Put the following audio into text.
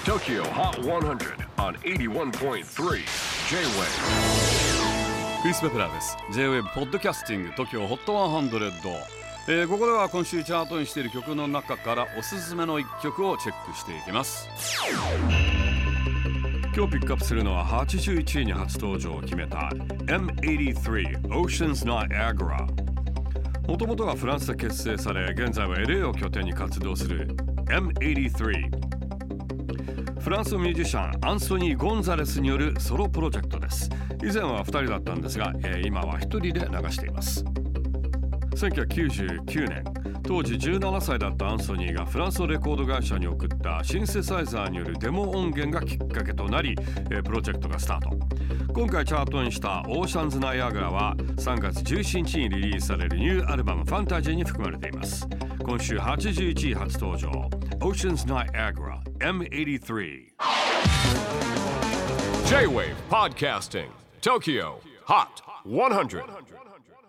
TOKYO HOT 100 on 81.3 J-WAVE クリス・ベプラーです。 J-WAVE ポッドキャスティング TOKYO HOT 100、ここでは今週チャートにしている曲の中からおすすめの一曲をチェックしていきます。今日ピックアップするのは81位に初登場を決めた M83 Oceans Niagara。 もともとはフランスで結成され、現在は LA を拠点に活動する M83。 フランスのミュージシャンアンソニー・ゴンザレスによるソロプロジェクトです。以前は2人だったんですが、今は1人で流しています。1999年、当時17歳だったアンソニーがフランスのレコード会社に送ったシンセサイザーによるデモ音源がきっかけとなり、プロジェクトがスタート。今回チャートにしたオーシャンズ・ナイアガラは3月17日にリリースされるニューアルバムファンタジーに含まれています。今週81位初登場 Oceans Niagara M83。 J-WAVE PODCASTING TOKYO HOT 100